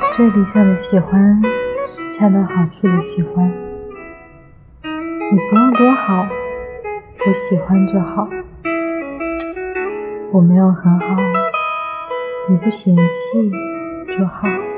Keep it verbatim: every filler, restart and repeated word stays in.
最理想的喜欢是恰到好处的喜欢，你不用多好，我喜欢就好。我没有很好，你不嫌弃就好。